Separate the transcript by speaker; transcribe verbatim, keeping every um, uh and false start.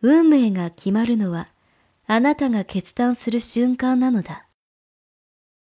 Speaker 1: 運命が決まるのはあなたが決断する瞬間なのだ。